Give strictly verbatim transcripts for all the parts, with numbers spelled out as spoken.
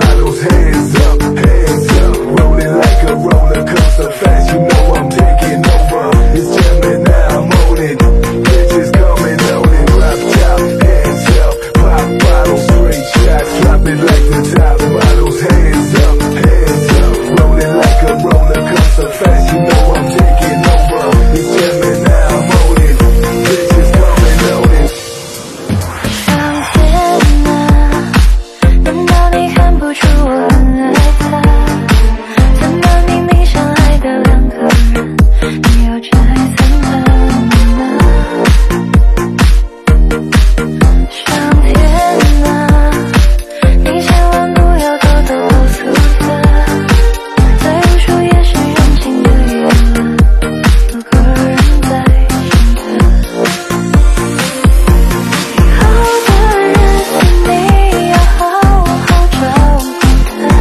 bottles, hands up, hands up, rolling like a roller coaster, fast, you know I'm taking over. It's jamming now, I'm on it. Bitches coming on it, drop top, hands up, pop bottles, straight shots, drop it like the top bottles, hands up, hands up, rolling like a roller coaster, fast, you know I'm taking over. It's jamming now, I'm on it. Bitches coming on it. 上天啊，难道你看不出我很爱他？怎么明明相爱的两个人，你要拆散他们呢？上天啊，你千万不要偷偷告诉他，在无数夜深人静的夜晚，有个人在想他。以后的日子你要好好照顾他，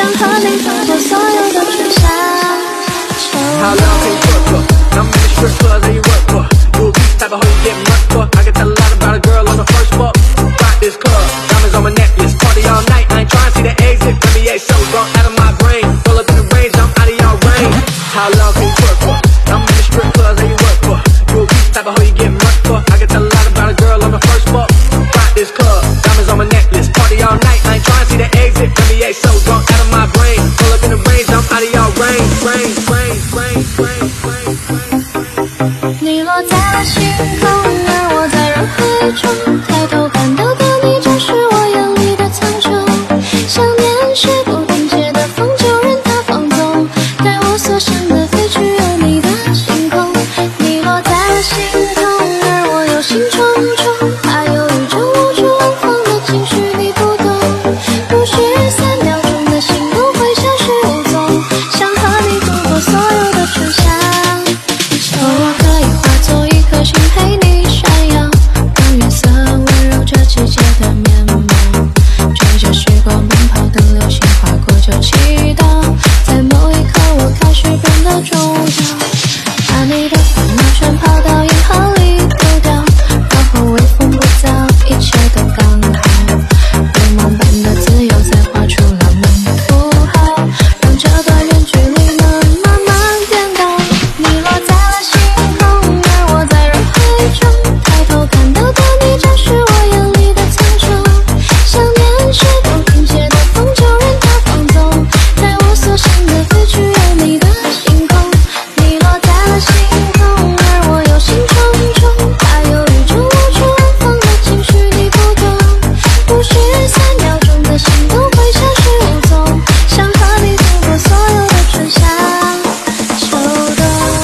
和你度过所有的春夏秋冬。 How long can you work for? I'm in the strip club that you work for. You a beast type of hoe you get murked for. I can tell a lot about a girl on the first walk. Got this club, diamonds on my necklace. Party all night, I ain't trying to see the exit. N B A shows gone out of my brain. Roll up in the range, I'm out of your range. How long can you work for? I'm in the strip club that you work for. You a beast type of hoe you get murked for. I can tell a lot about a girl on the first walk. Got this club, diamonds on my necklace. Party all night, I ain't trying to see the exit. N B A shows gone out of my brain. Roll up in the range, I'm out of your range. Range, range, range, range, range, range. 你落在了星空，而我在人海中，抬头看到的你就是我眼里的苍穹。想念是不停歇的风，就任它放纵，带我所向的飞去有你的星空。你落在了星空，而我忧心忡忡，怕犹豫中无处安放的情绪你不懂，不需三秒钟的心动会消失无踪，想和你度过所有的春夏秋。我可以化作一颗星陪你闪耀，让月色温柔这季节的面貌，追着时光奔跑，等流星划过就祈祷，在某一刻我开始变得重要，把你的烦恼全抛到银河里丢掉，然后微风不燥，一切都刚好，如梦般的自由再画出浪漫的符号，让这段远距离能慢慢变高。你落在了星空，而我在人海中，抬头看到的你就是我眼里的苍穹。想念是不停歇的风，就任它放纵，带我所向的飞去有你的星空。你落在了星空，而我忧心忡忡，怕犹豫中无处安放的情绪你不懂，不需三秒钟的心动会消失无踪，想和你度过所有的春夏秋冬。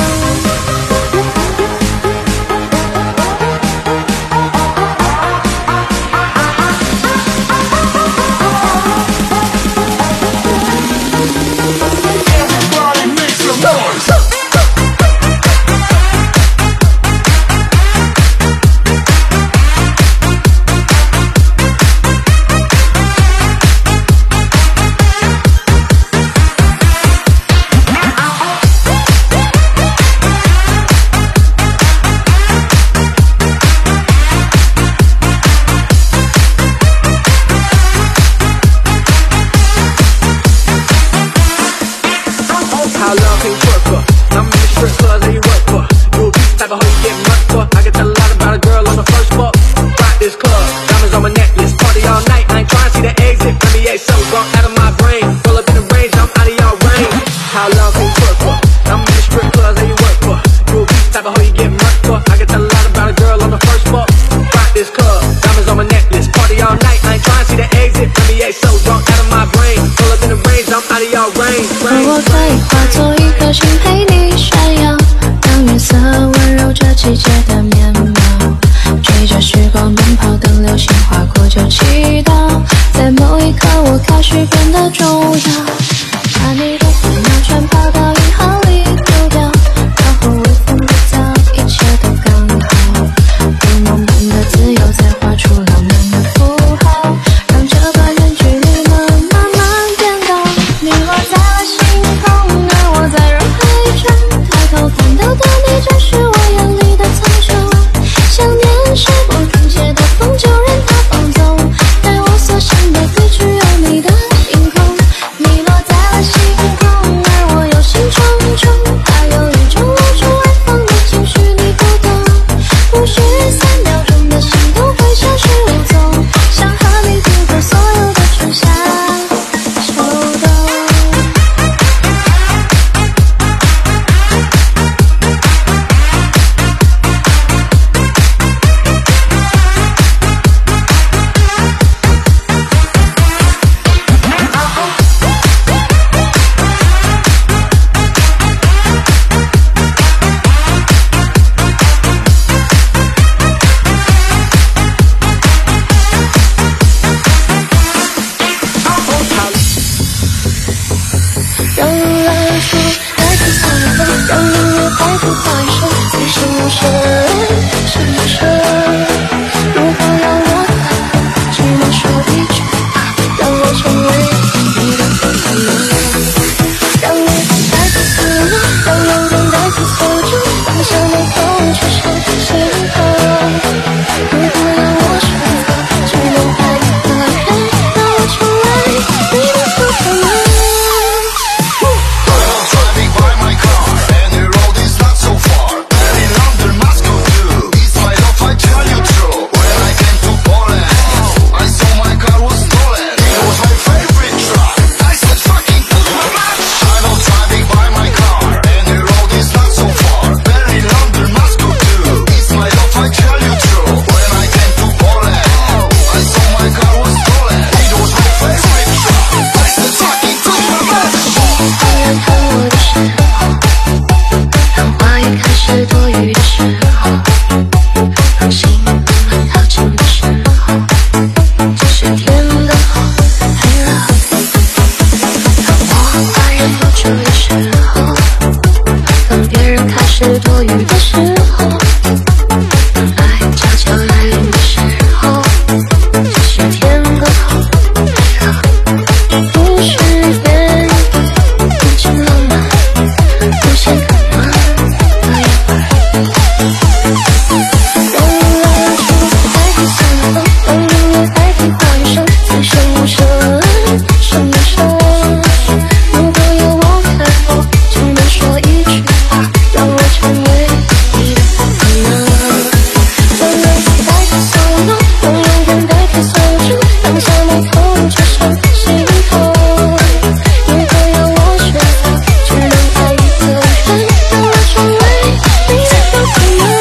Everybody make some noise. How long can you work for? I'm in the strip club that you work for. You a beast type of hoe you get murked for. I can tell a lot about a girl on the first walk. Got this club, diamonds on my necklace. Party all night, I ain't trying to see the exit. N B A shows gone out of my brain. Roll up in the range, I'm out of your range. How long can you work for? I'm in the strip club that you work for. You a beast type of hoe you get murked for. I can tell a lot about a girl on the first walk. Got this club, diamonds on my necklace. Party all night, I ain't trying to see the exit. N B A shows gone out of my brain. Roll up in the range, I'm out of your range. 而我可以化作一颗星陪你闪耀，让月色温柔这季节的面貌，追着时光奔跑，等流星划过就祈祷，在某一刻我开始变得重要，把你的烦恼全抛到银河里丢掉，然后微风不燥，一切都刚好，如梦般的自由再画出浪漫的符号，让这段远距离能慢慢变高。你落在了星空，而我在人海中，抬头看到的你就是我眼里的苍穹。想念是不停歇的风，就任它放纵，带我所向的飞去有你的星空。你落在了星空，而我忧心忡忡，怕犹豫中无处安放的情绪你不懂，不需三秒钟的心动会消失无踪，想和你度过所有的春夏秋冬。让人来说，代替所有的，让音乐代替话语声，你是我深深深。如何让我只能说一句，让我成为你的负担？ 就有时候，当别人开始多余的时候，当爱悄悄来临的时候，只是天刚好来了，不是原因，无尽浪漫，无限可能的一会儿。让蜡烛代替散风，让音乐代替话语声，此生无声，声有声。如果有我在后，只能说一句话，让我成为你的可能。让泪水代替所有，让勇敢代替所有酒，当下没痛就上心头。如果要我选择，只能爱一个人，让我成为你的可能。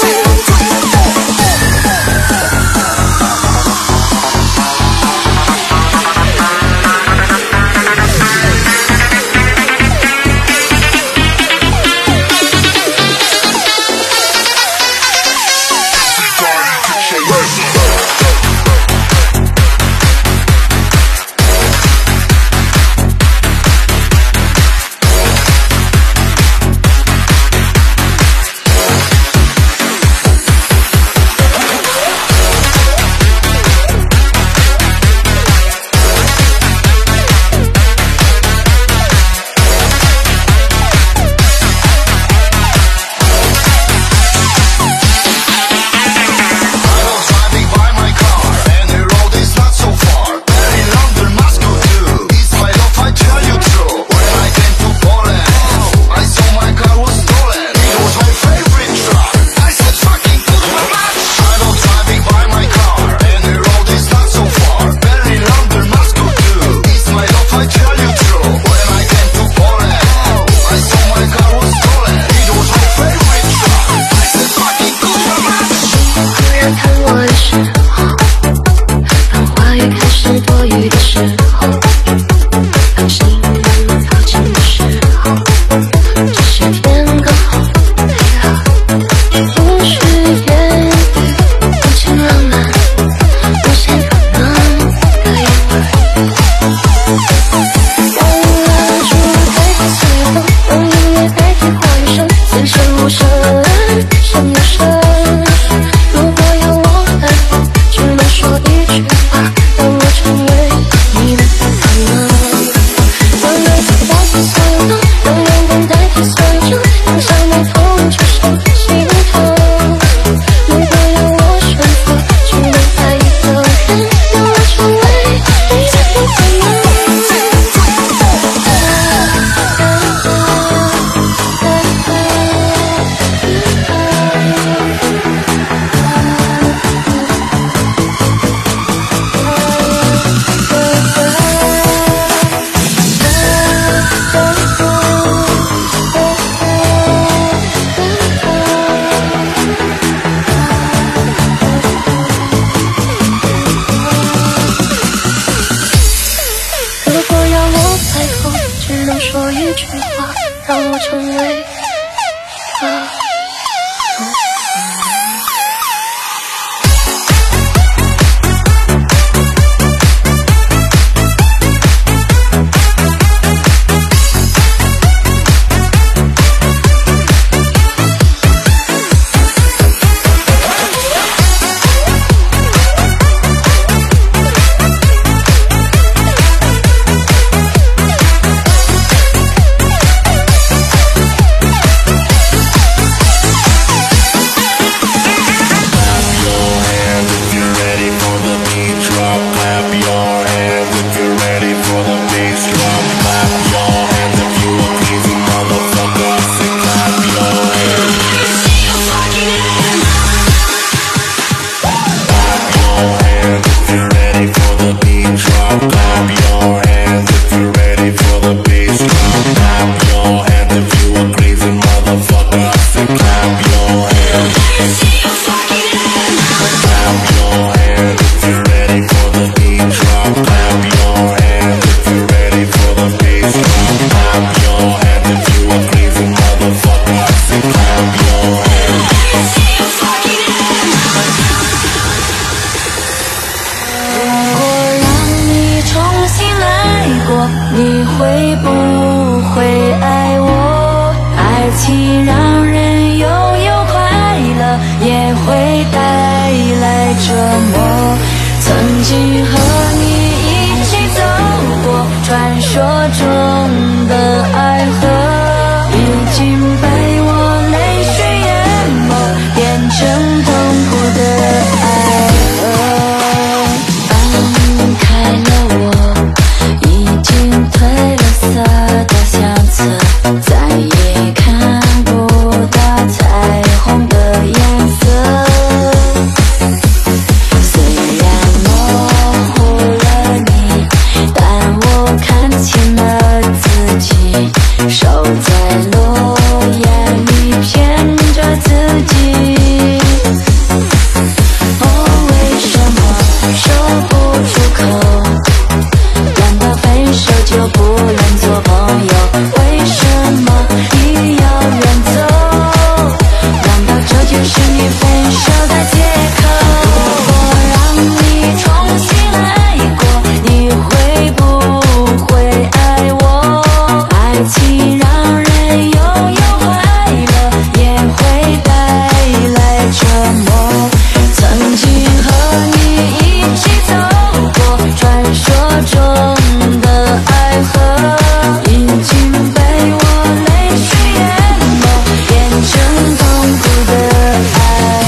说一句话，让我成为啊。你会不会会爱我。爱情让人拥有快乐，也会带来折磨。曾经和你一起走过传说中的爱河，已经被我泪水淹没，变成痛苦的爱河。放开了我已经褪了色的相册，再也看不到彩虹的颜色。虽然模糊了你，但我看清了自己，手在落叶里骗着自己。哦，为什么说不出口？难道分手就不能做朋友？为什么你要远走？难道这就是你分手的借口？如果让你重新来过，你会不会爱我？爱情让人拥有快乐，也会带来折磨。曾经和你一起走过传说中的爱河，已经被我泪水淹没，变成痛苦的爱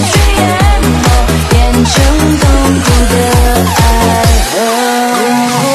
河。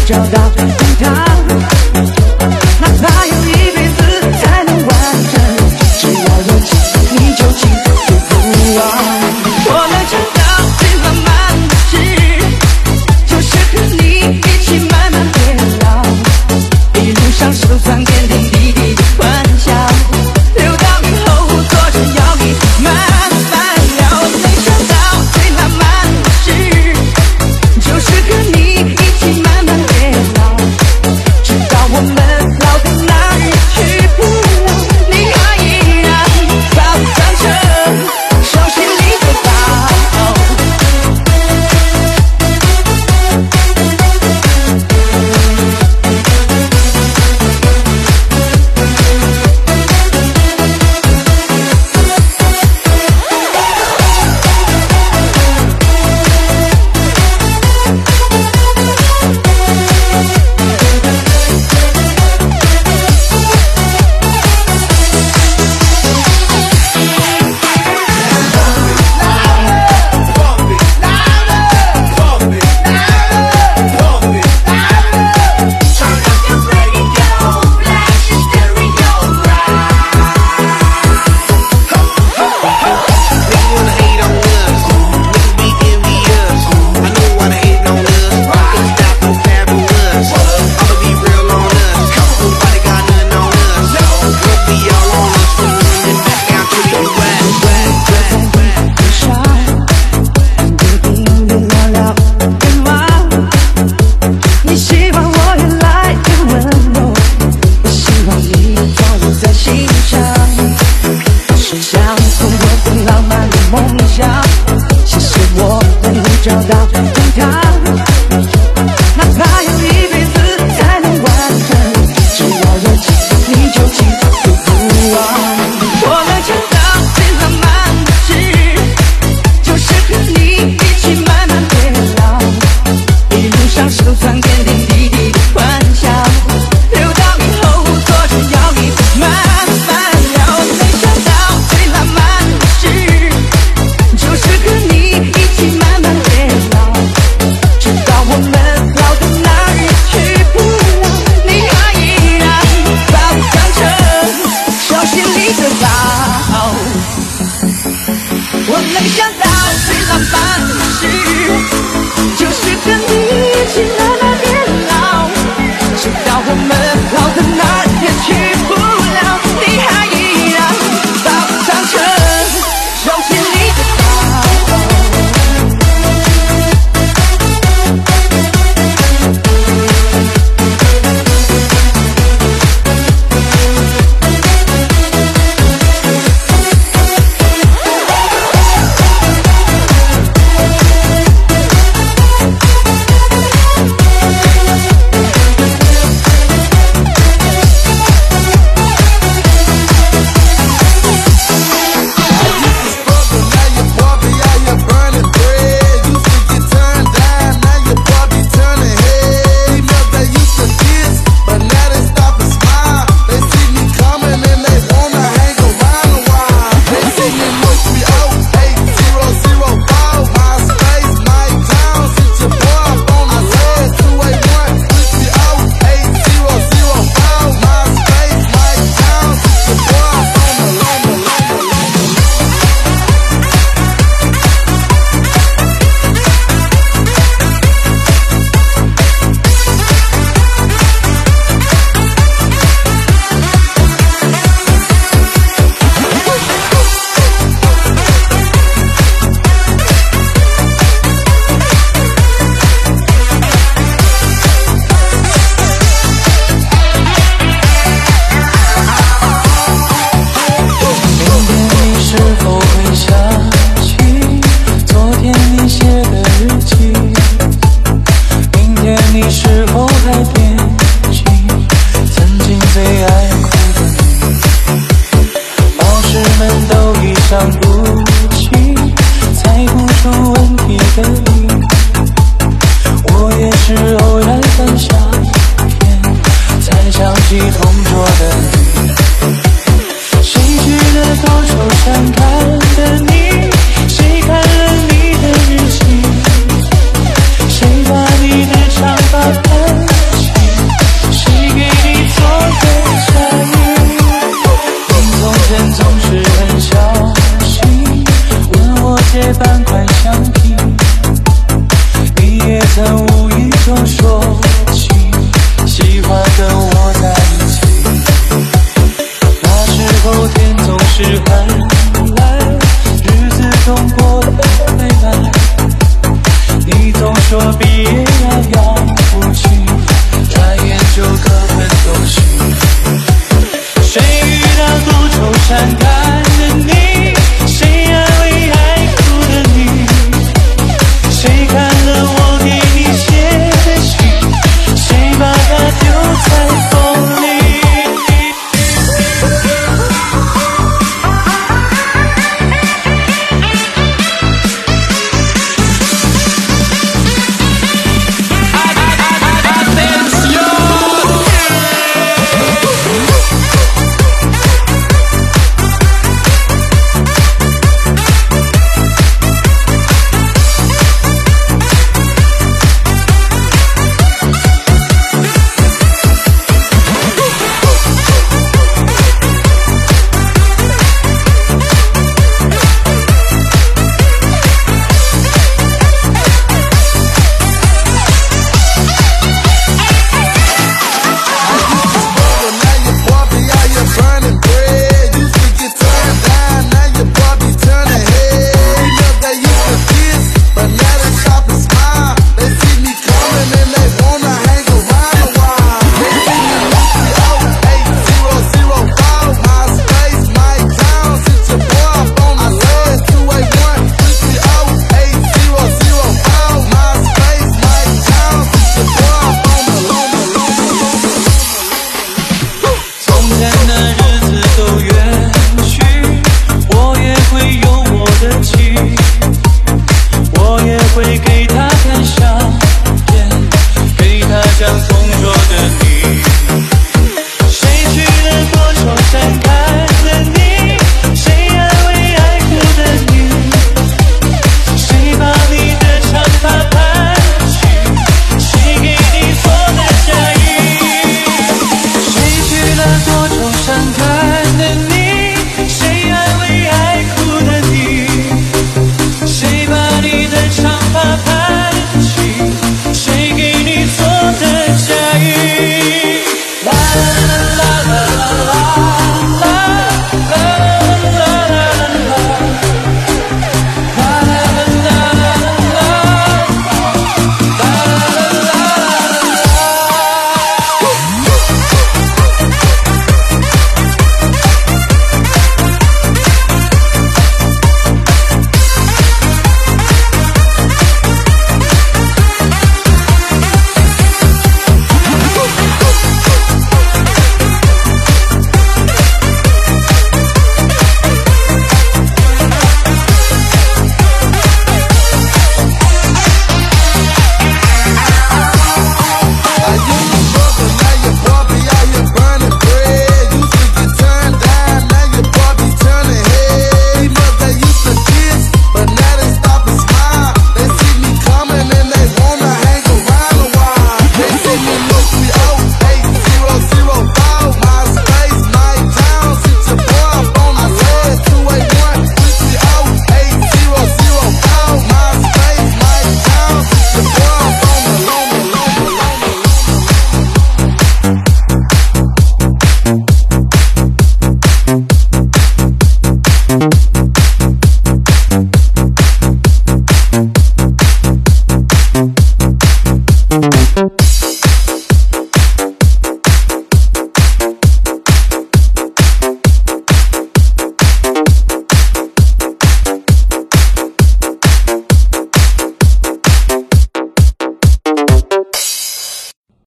找到天堂，哪怕有一辈子才能完成，只要有情你就记住不忘。我能想到最浪漫的事，就是和你一起慢慢变老，一路上收藏点点滴滴的欢笑，留到以后坐着摇椅慢慢聊。没想到最浪漫的事，就是和你一起慢慢变老，直到我们老到哪儿也去不了，你还依然把我当成手心里的宝。找到天堂，哪怕有一辈子才能完成，只要有情你就记住不忘。我能想到最浪漫的事，就是和你一起慢慢变老，一路上收藏点点滴滴的欢笑，留到以后坐着摇椅慢慢聊。没想到最浪漫的事，就是和你一起慢慢变老，直到我们老到哪儿也去不了，你还依然把我当成手心里的宝。我能想到最浪漫的事，就是和你一起慢慢变老，直到我们老到哪儿也去不了，你还依然把我当成手心里的宝。你是否还